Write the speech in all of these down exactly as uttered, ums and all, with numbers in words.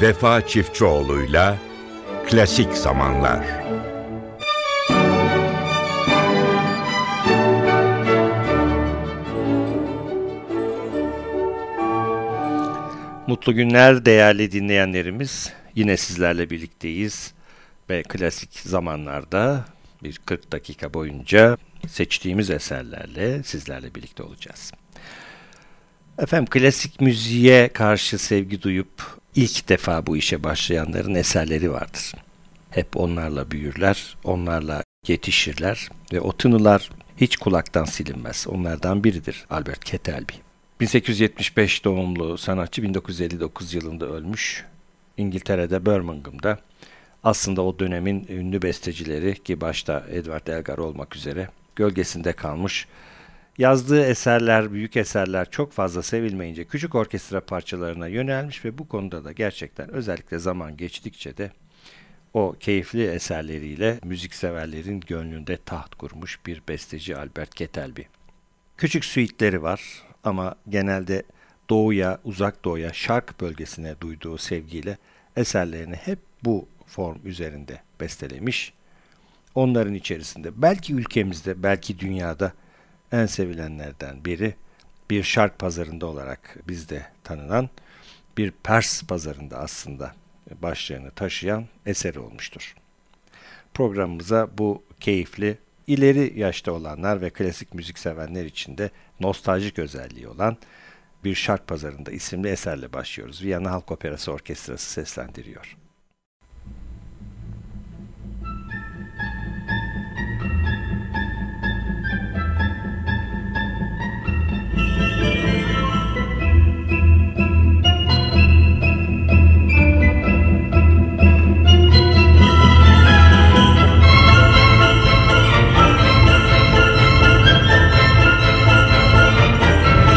Vefa Çiftçioğlu'yla Klasik Zamanlar. Mutlu günler değerli dinleyenlerimiz. Yine sizlerle birlikteyiz ve klasik zamanlarda bir kırk dakika boyunca seçtiğimiz eserlerle sizlerle birlikte olacağız. Efendim, klasik müziğe karşı sevgi duyup ilk defa bu işe başlayanların eserleri vardır. Hep onlarla büyürler, onlarla yetişirler ve o tınılar hiç kulaktan silinmez. Onlardan biridir Albert Kettelby. bin sekiz yüz yetmiş beş doğumlu sanatçı, bin dokuz yüz elli dokuz yılında ölmüş. İngiltere'de Birmingham'da. Aslında o dönemin ünlü bestecileri, ki başta Edward Elgar olmak üzere, gölgesinde kalmış. Yazdığı eserler, büyük eserler çok fazla sevilmeyince küçük orkestra parçalarına yönelmiş ve bu konuda da gerçekten özellikle zaman geçtikçe de o keyifli eserleriyle müzikseverlerin gönlünde taht kurmuş bir besteci Albert Kettelby. Küçük suite'leri var ama genelde doğuya, uzak doğuya, şark bölgesine duyduğu sevgiyle eserlerini hep bu form üzerinde bestelemiş. Onların içerisinde belki ülkemizde, belki dünyada en sevilenlerden biri, bir şark pazarında olarak bizde tanınan, bir Pers pazarında aslında başlığını taşıyan eseri olmuştur. Programımıza bu keyifli, ileri yaşta olanlar ve klasik müzik sevenler için de nostaljik özelliği olan Bir Şark Pazarında isimli eserle başlıyoruz. Viyana Halk Operası Orkestrası seslendiriyor.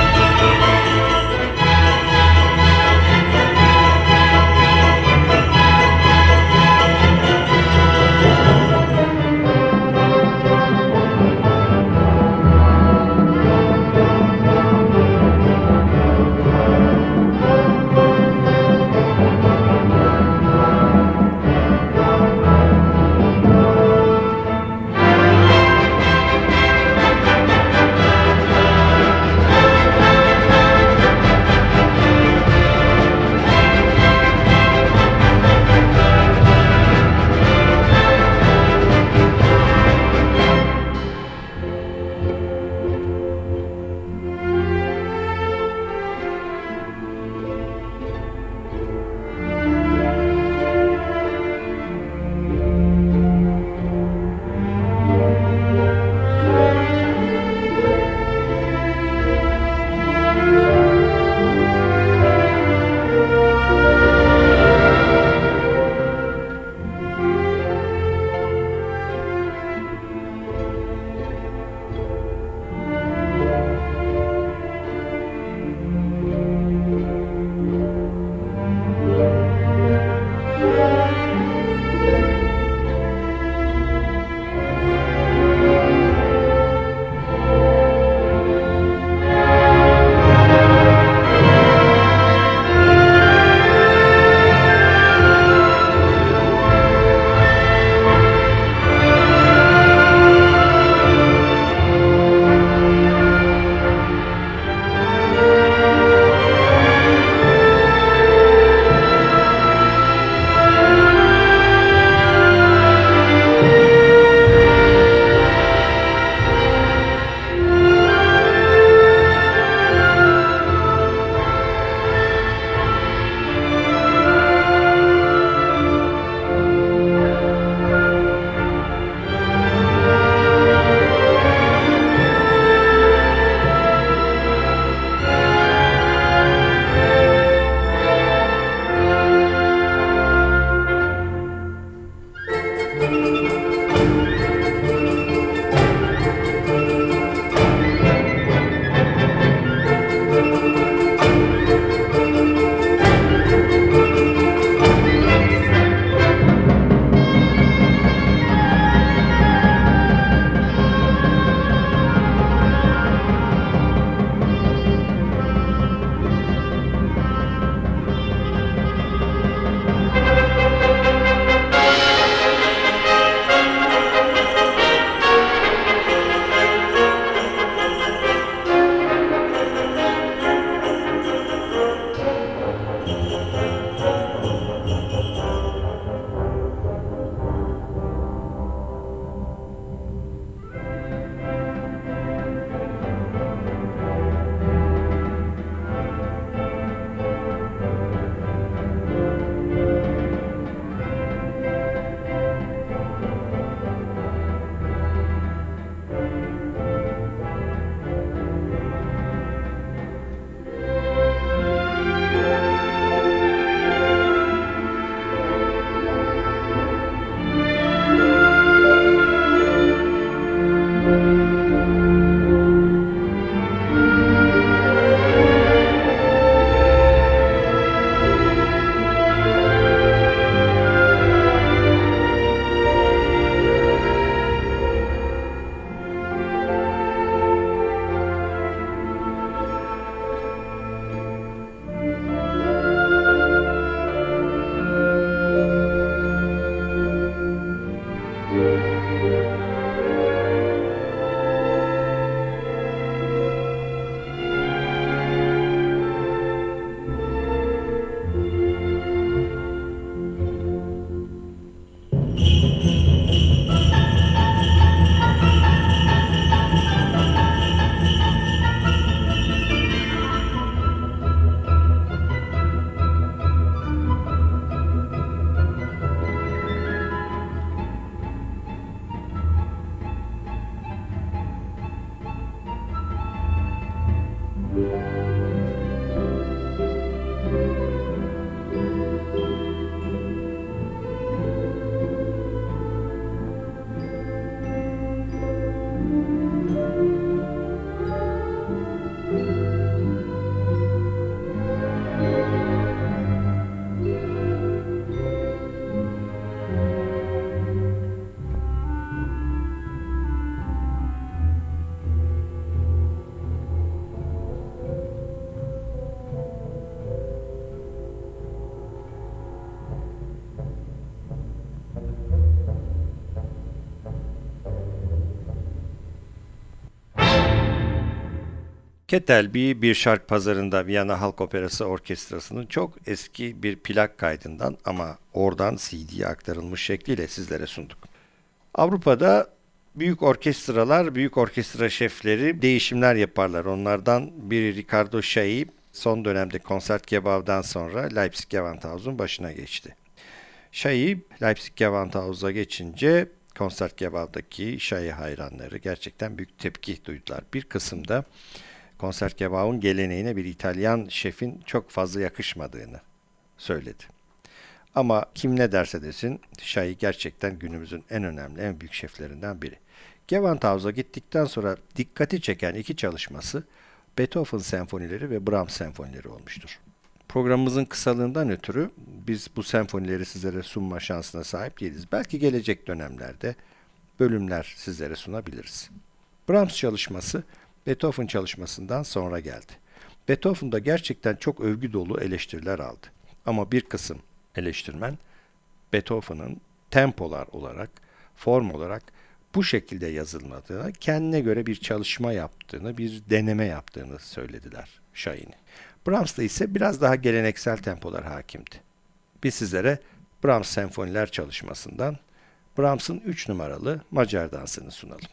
Thank you. Kettelby bir şark pazarında Viyana Halk Operası Orkestrası'nın çok eski bir plak kaydından ama oradan C D'ye aktarılmış şekliyle sizlere sunduk. Avrupa'da büyük orkestralar, büyük orkestra şefleri değişimler yaparlar. Onlardan biri Ricardo Chailly son dönemde Concertgebouw'dan sonra Leipzig Gewandhaus'un başına geçti. Chailly Leipzig Gewandhaus'a geçince Concertgebouw'daki Chailly hayranları gerçekten büyük tepki duydular. Bir kısımda Concertgebouw'un geleneğine bir İtalyan şefin çok fazla yakışmadığını söyledi. Ama kim ne derse desin, Chailly gerçekten günümüzün en önemli, en büyük şeflerinden biri. Gewandhaus'a gittikten sonra dikkati çeken iki çalışması Beethoven senfonileri ve Brahms senfonileri olmuştur. Programımızın kısalığından ötürü biz bu senfonileri sizlere sunma şansına sahip değiliz. Belki gelecek dönemlerde bölümler sizlere sunabiliriz. Brahms çalışması Beethoven çalışmasından sonra geldi. Beethoven'da gerçekten çok övgü dolu eleştiriler aldı. Ama bir kısım eleştirmen Beethoven'ın tempolar olarak, form olarak bu şekilde yazılmadığını, kendine göre bir çalışma yaptığını, bir deneme yaptığını söylediler Chailly'nin. Brahms'ta ise biraz daha geleneksel tempolar hakimdi. Biz sizlere Brahms senfoniler çalışmasından Brahms'ın üç numaralı Macar dansını sunalım.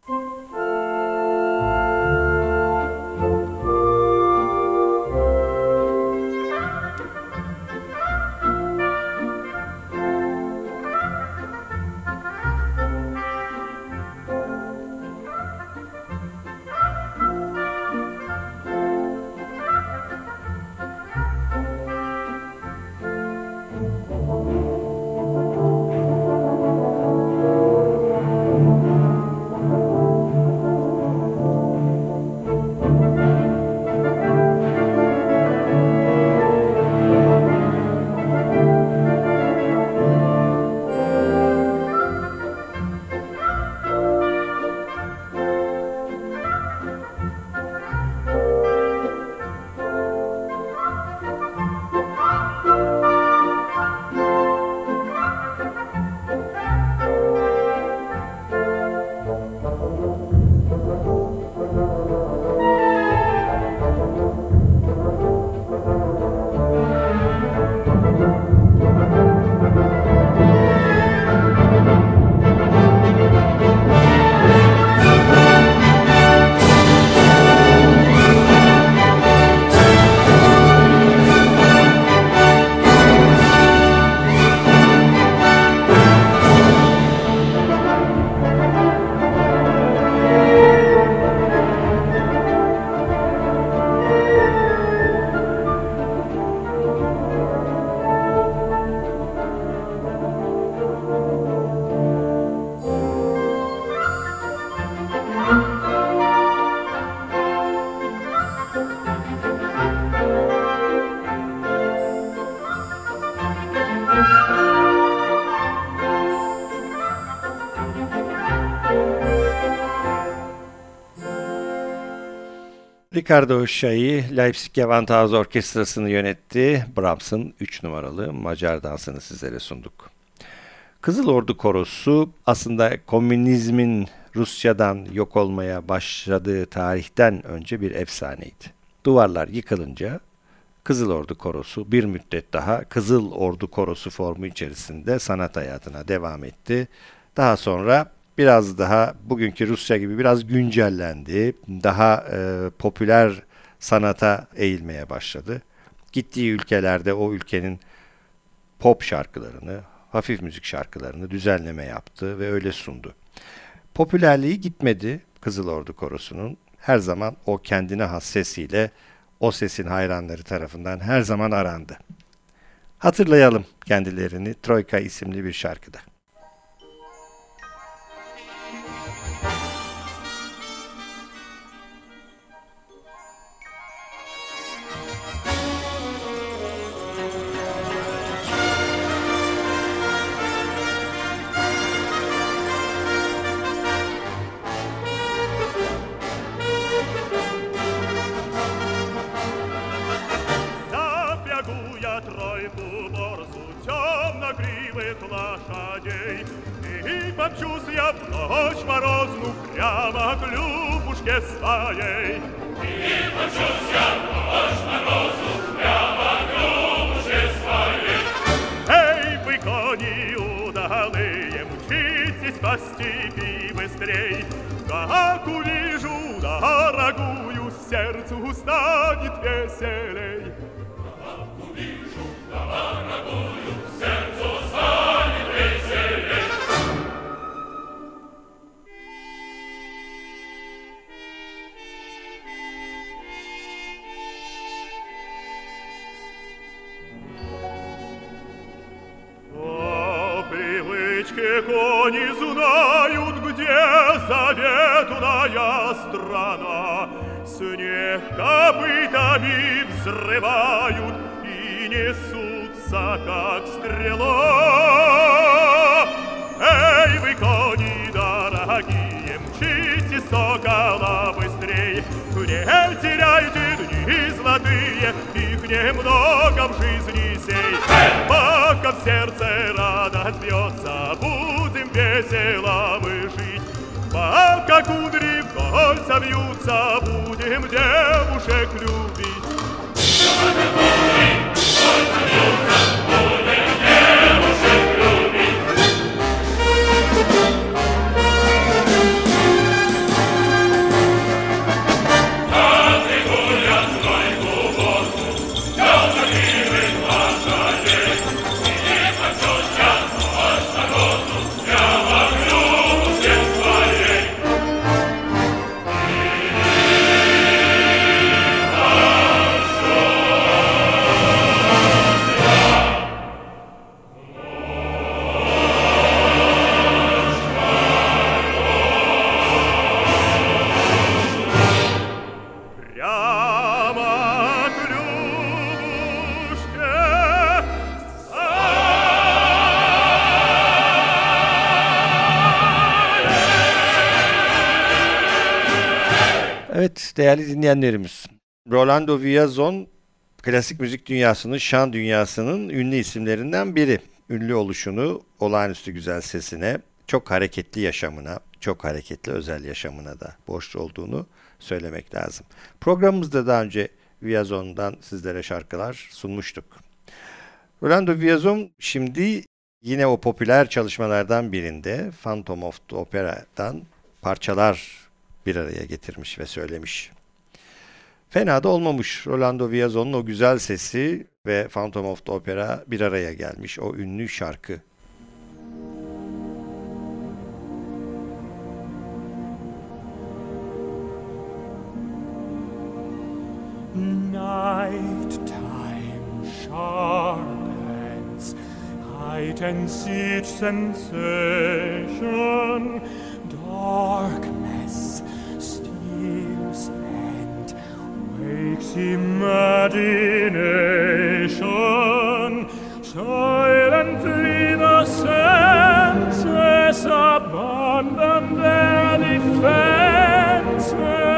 Ricardo Chailly, Leipzig Gewandhaus Orkestrası'nı yönetti. Brahms'ın üç numaralı Macar dansını sizlere sunduk. Kızıl Ordu Korosu aslında komünizmin Rusya'dan yok olmaya başladığı tarihten önce bir efsaneydi. Duvarlar yıkılınca Kızıl Ordu Korosu bir müddet daha Kızıl Ordu Korosu formu içerisinde sanat hayatına devam etti. Daha sonra biraz daha bugünkü Rusya gibi biraz güncellendi. Daha e, popüler sanata eğilmeye başladı. Gittiği ülkelerde o ülkenin pop şarkılarını, hafif müzik şarkılarını düzenleme yaptı ve öyle sundu. Popülerliği gitmedi Kızıl Ordu Korosu'nun. her zaman o kendine has sesiyle o sesin hayranları tarafından her zaman arandı. Hatırlayalım kendilerini Troika isimli bir şarkıda. Лошадей, и помчусь я в ночь морозную прямо к Любушке своей. И помчусь я в ночь морозную прямо к Любушке своей. Эй, вы, кони удалые, мчитесь по степи быстрей. Как увижу дорогую, сердцу станет веселей. Как увижу дорогую, сердцу станет веселей. По привычке кони знают, где заветная страна. Снег копытами взрывают и несутся, как стрела. Эй, вы, кони дорогие, мчите сокола быстрей. Не теряйте дни золотые, их немного в жизни сей. Пока в сердце радость бьется, будем весело мы жить. Пока кудри в кольца вьются, будем девушек любить. Evet değerli dinleyenlerimiz, Rolando Villazon klasik müzik dünyasının, şan dünyasının ünlü isimlerinden biri. Ünlü oluşunu olağanüstü güzel sesine, çok hareketli yaşamına, çok hareketli özel yaşamına da borçlu olduğunu söylemek lazım. Programımızda daha önce Villazon'dan sizlere şarkılar sunmuştuk. Rolando Villazon şimdi yine o popüler çalışmalardan birinde Phantom of the Opera'dan parçalar bir araya getirmiş ve söylemiş. Fena da olmamış. Rolando Villazon'un o güzel sesi ve Phantom of the Opera bir araya gelmiş. O ünlü şarkı. Night time sharpens, heightens each sensation, darkness steals and wakes imagination. Silently the senses abandon their defenses.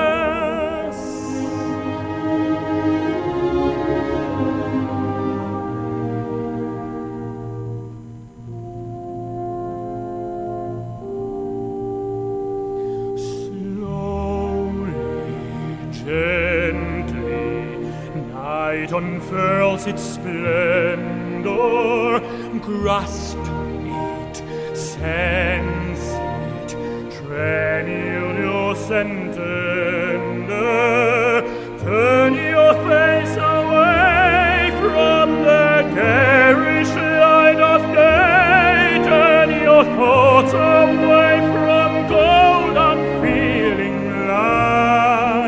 Unfurls its splendor, grasp it, sense it, tremulous and tender. Turn your face away from the garish light of day. Turn your thoughts away from cold, unfeeling light.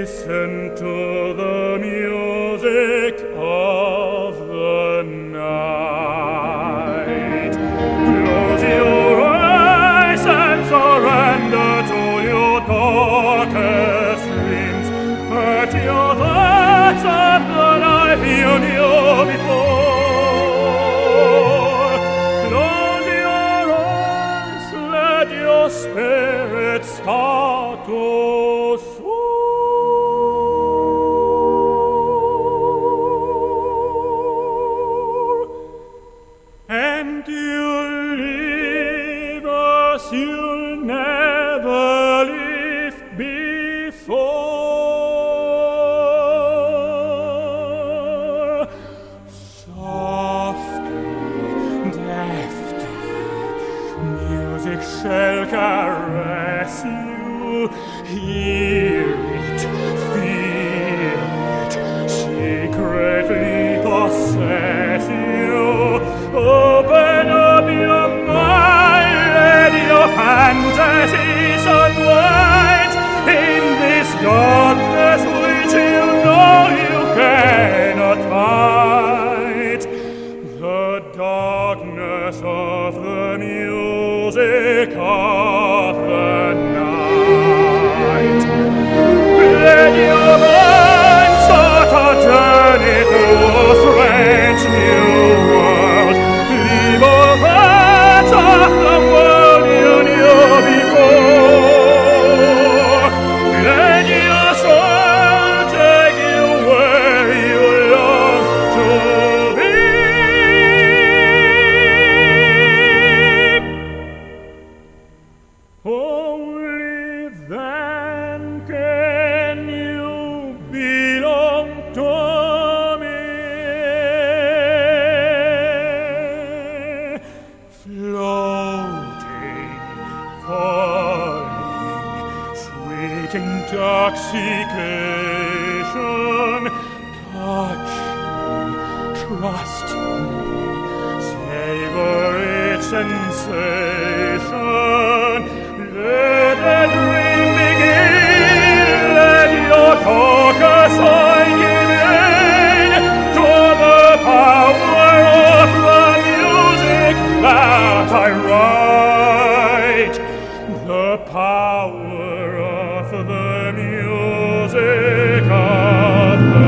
listen to the music of the night. Close your eyes and surrender to your darkest dreams. Put your thoughts of the life you knew before. Close your eyes, let your spirit start to soar. And you'll leave us, you'll never leave before. Softly, deftly, music shall caress you. Hear it, feel it, secretly possess you. Open up your mind, let your fantasies unwind in this darkness which you know you cannot fight. The darkness of the music of the night. Let your mind start a journey through a strange new world. Leave all that of the world you knew before. Let your soul take you where you long to be. Only then can you belong to me. Floating, falling, sweet intoxication. Touch me, trust me, savor its sensation. Let the dream begin, let your focus on give in to the power of the music that I write. The power of the music of the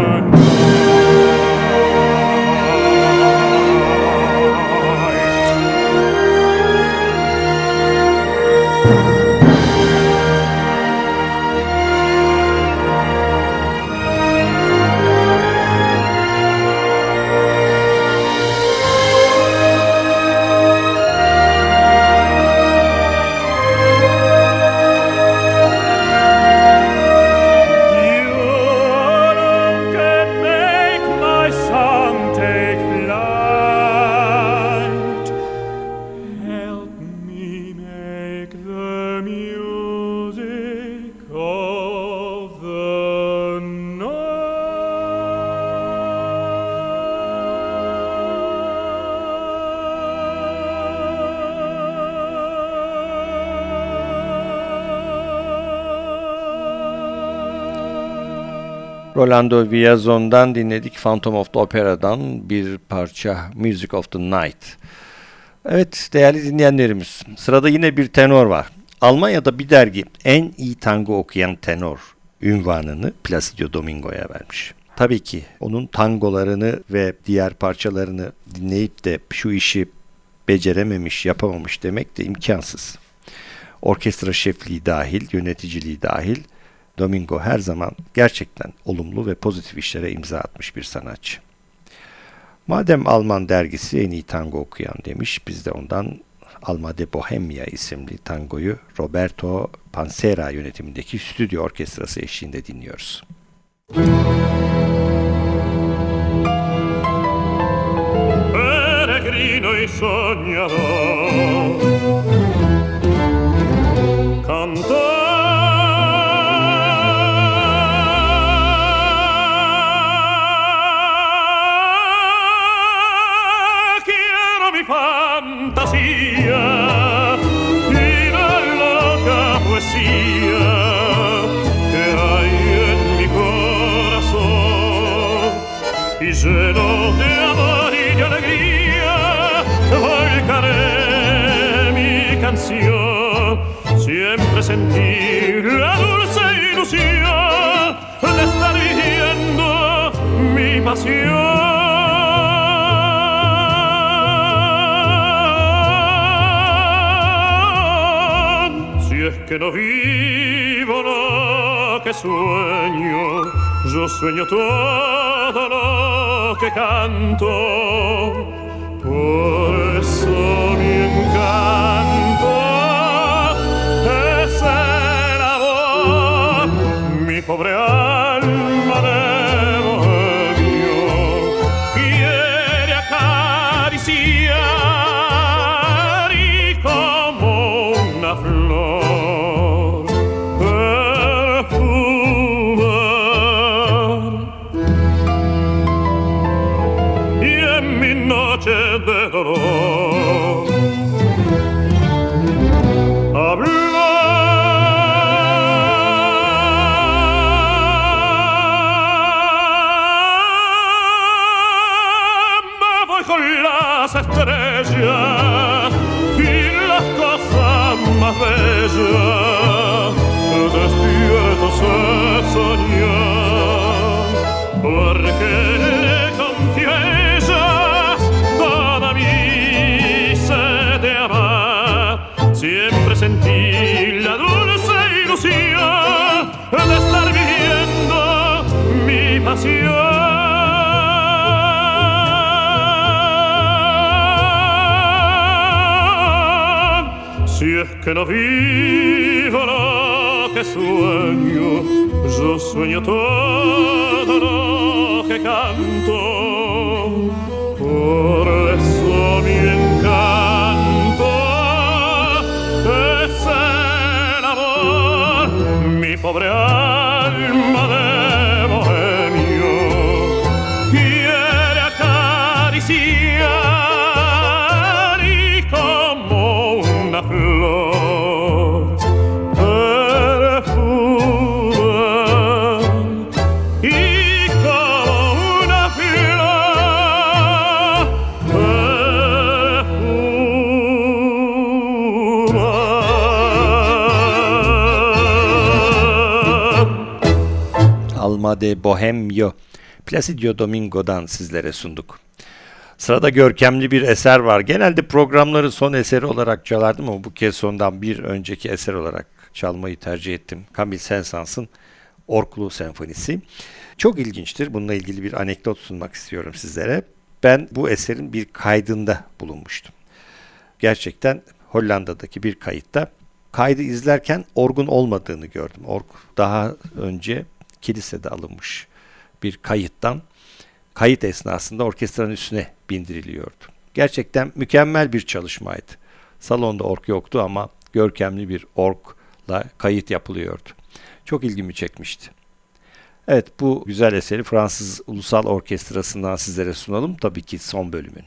Rolando Villazon'dan dinledik, Phantom of the Opera'dan bir parça, Music of the Night. Evet değerli dinleyenlerimiz, sırada yine bir tenor var. Almanya'da bir dergi en iyi tango okuyan tenor ünvanını Placido Domingo'ya vermiş. Tabii ki onun tangolarını ve diğer parçalarını dinleyip de şu işi becerememiş, yapamamış demek de imkansız. Orkestra şefliği dahil, yöneticiliği dahil, Domingo her zaman gerçekten olumlu ve pozitif işlere imza atmış bir sanatçı. Madem Alman dergisi en iyi tango okuyan demiş, biz de ondan Alma de Bohemia isimli tangoyu Roberto Pansera yönetimindeki stüdyo orkestrası eşliğinde dinliyoruz. Peregrino y soñador, cantor. Fantasia, una loca poesía que hay lleno de amor y de alegría, volcaré mi canción. Siempre sentí la dulce ilusión de estar viviendo mi pasión. Es que no vivo lo que sueño, yo sueño todo lo que canto. Por eso mi encanto es el amor, mi pobre alma de bohemio quiere acariciar y como una flor de dolor hablar. Me voy con las estrellas y las cosas más bellas, despiertos a soñar, porque confío en siempre sentí la dulce ilusión de estar viviendo mi pasión. Si es que no vivo lo que sueño, yo sueño todo lo que canto. Por eso mi encanto es el amor, mi pobre alma de bohemio quiere acariciar y como una flor perfumar y como una flor perfumar. Alma de Bohemio, Placido Domingo'dan sizlere sunduk. Sırada görkemli bir eser var. Genelde programları son eseri olarak çalardım ama bu kez sondan bir önceki eser olarak çalmayı tercih ettim. Camille Saint-Saëns'ın Orklu Senfonisi. Çok ilginçtir. Bununla ilgili bir anekdot sunmak istiyorum sizlere. Ben bu eserin bir kaydında bulunmuştum. Gerçekten Hollanda'daki bir kayıtta kaydı izlerken orgun olmadığını gördüm. Org daha önce kilisede alınmış bir kayıttan kayıt esnasında orkestranın üstüne bindiriliyordu. Gerçekten mükemmel bir çalışmaydı. Salonda org yoktu ama görkemli bir orgla kayıt yapılıyordu. Çok ilgimi çekmişti. Evet, bu güzel eseri Fransız Ulusal Orkestrası'ndan sizlere sunalım. Tabii ki son bölümünü.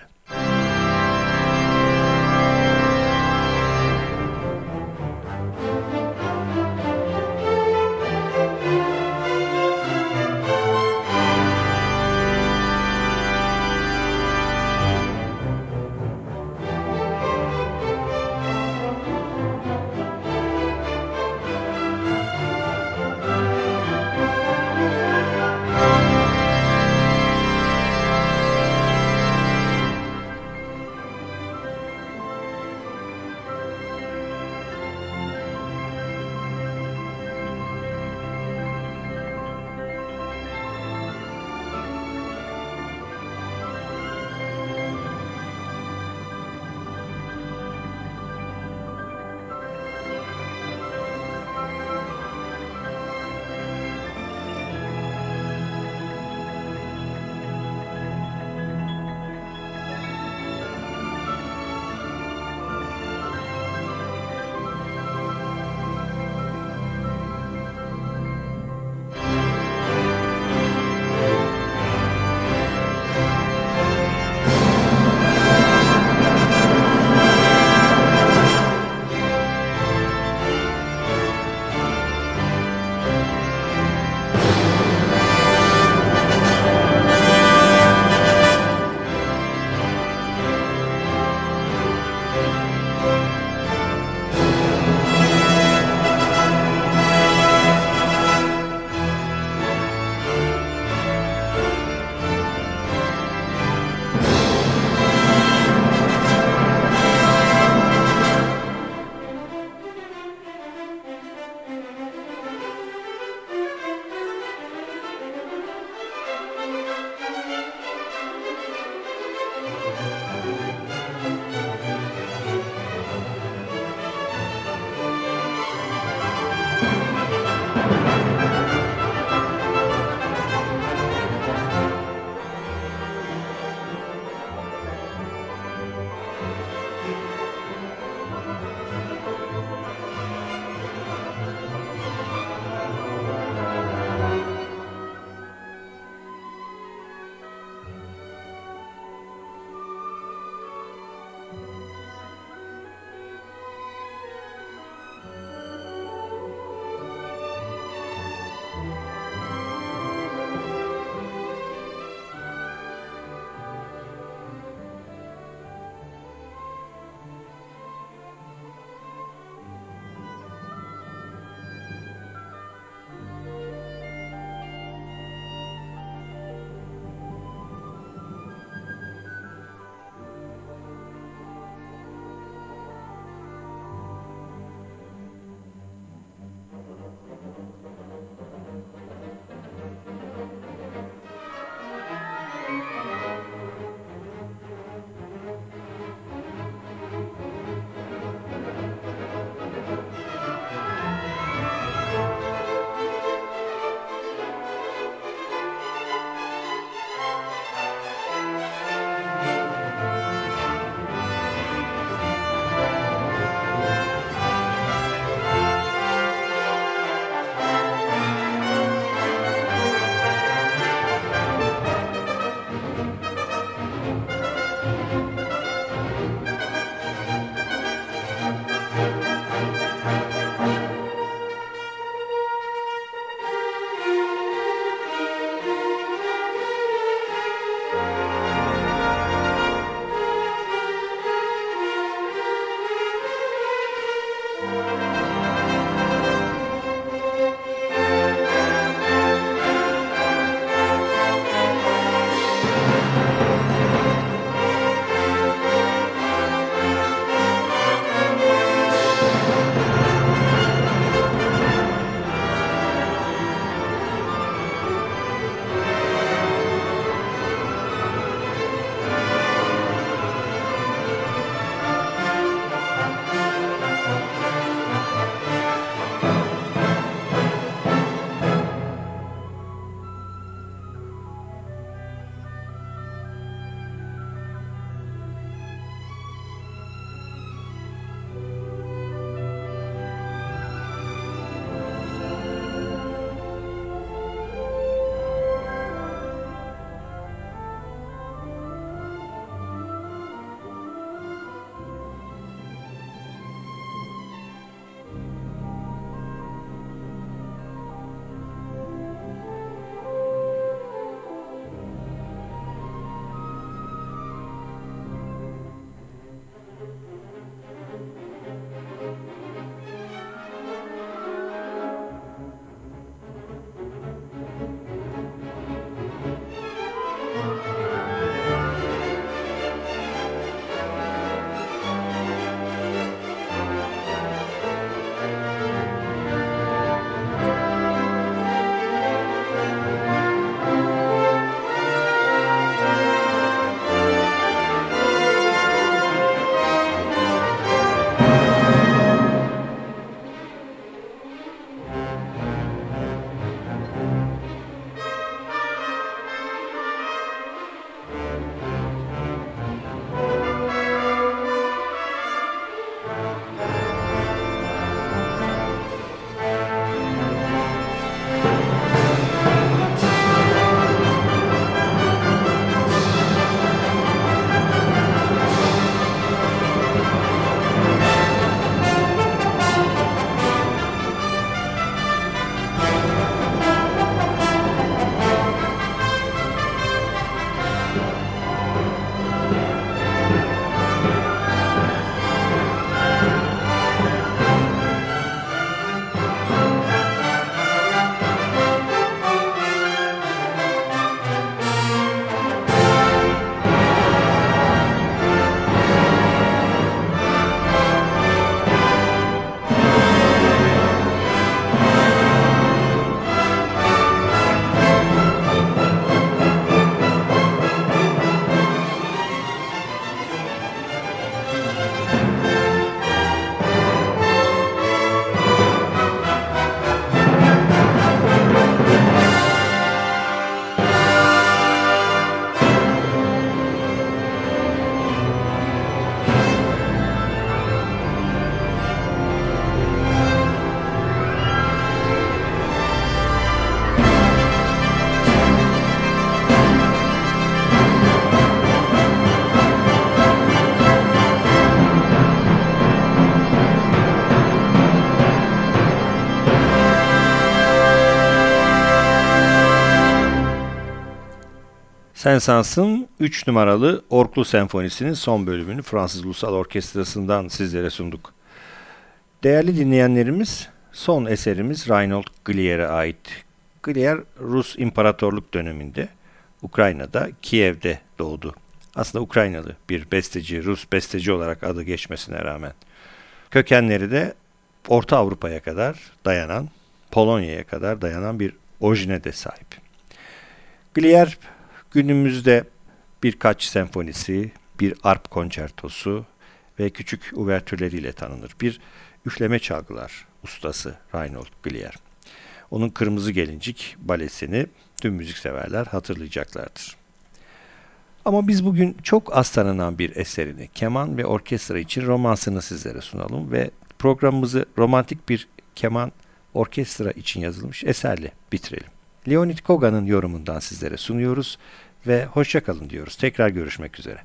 Saint-Saëns'ın üç numaralı Orklu Senfonisi'nin son bölümünü Fransız Ulusal Orkestrası'ndan sizlere sunduk. Değerli dinleyenlerimiz, son eserimiz Reinhold Glier'e ait. Glier, Rus İmparatorluk döneminde Ukrayna'da, Kiev'de doğdu. Aslında Ukraynalı bir besteci, Rus besteci olarak adı geçmesine rağmen. Kökenleri de Orta Avrupa'ya kadar dayanan, Polonya'ya kadar dayanan bir orijine de sahip. Glier günümüzde birkaç senfonisi, bir arp konçertosu ve küçük uvertürleriyle tanınır. Bir üfleme çalgılar ustası Reinhold Glier. Onun Kırmızı Gelincik balesini tüm müzikseverler hatırlayacaklardır. Ama biz bugün çok az tanınan bir eserini, keman ve orkestra için romansını sizlere sunalım ve programımızı romantik bir keman orkestra için yazılmış eserle bitirelim. Leonid Kogan'ın yorumundan sizlere sunuyoruz ve hoşça kalın diyoruz. Tekrar görüşmek üzere.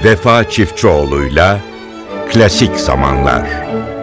Vefa Çiftçioğlu'yla Klasik Zamanlar.